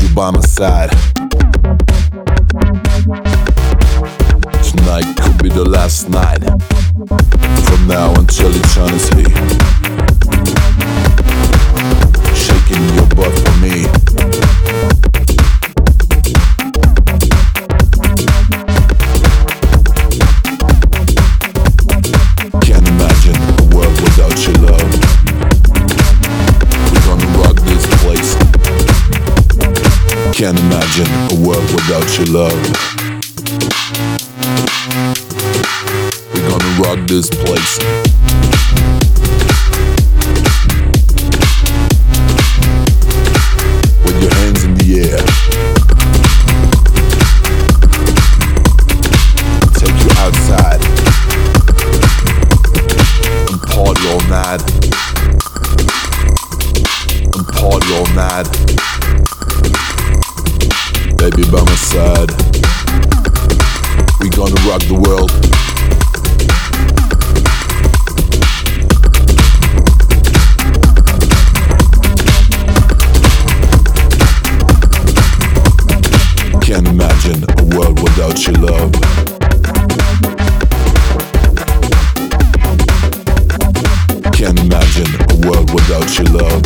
you by my side. Tonight could be the last night. From now until eternity. Shaking your butt for me. Can't imagine a world without your love. We're gonna rock this place. Can't imagine a world without your love. We're gonna rock this place. With your hands in the air. Take you outside and party all night. And party all night. Baby by my side. We gonna rock the world. Can't imagine a world without your love. Can't imagine a world without your love.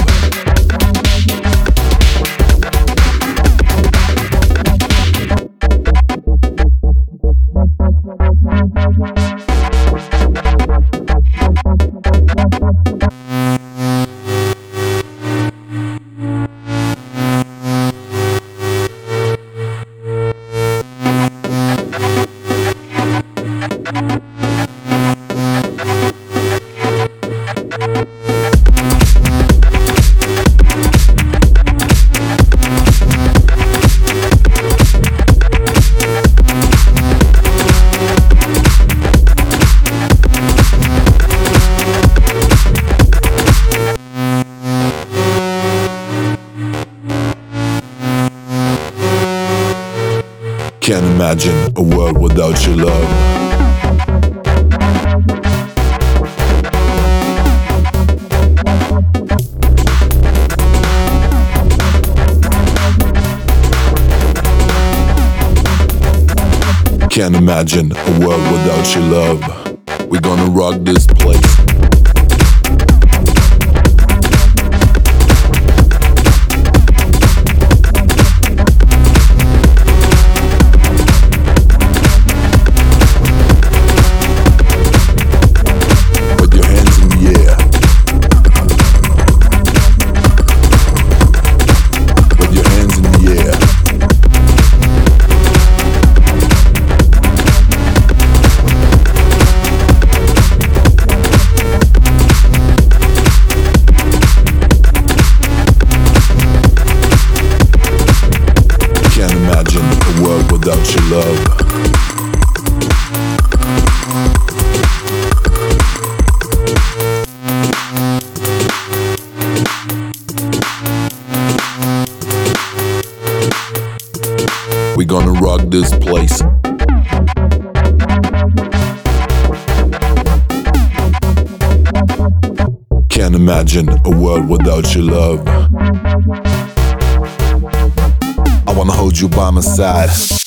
Can't imagine a world without your love. Can't imagine a world without your love. We're gonna rock this place. Without your love. We're gonna rock this place. Can't imagine a world without your love. I wanna hold you by my side.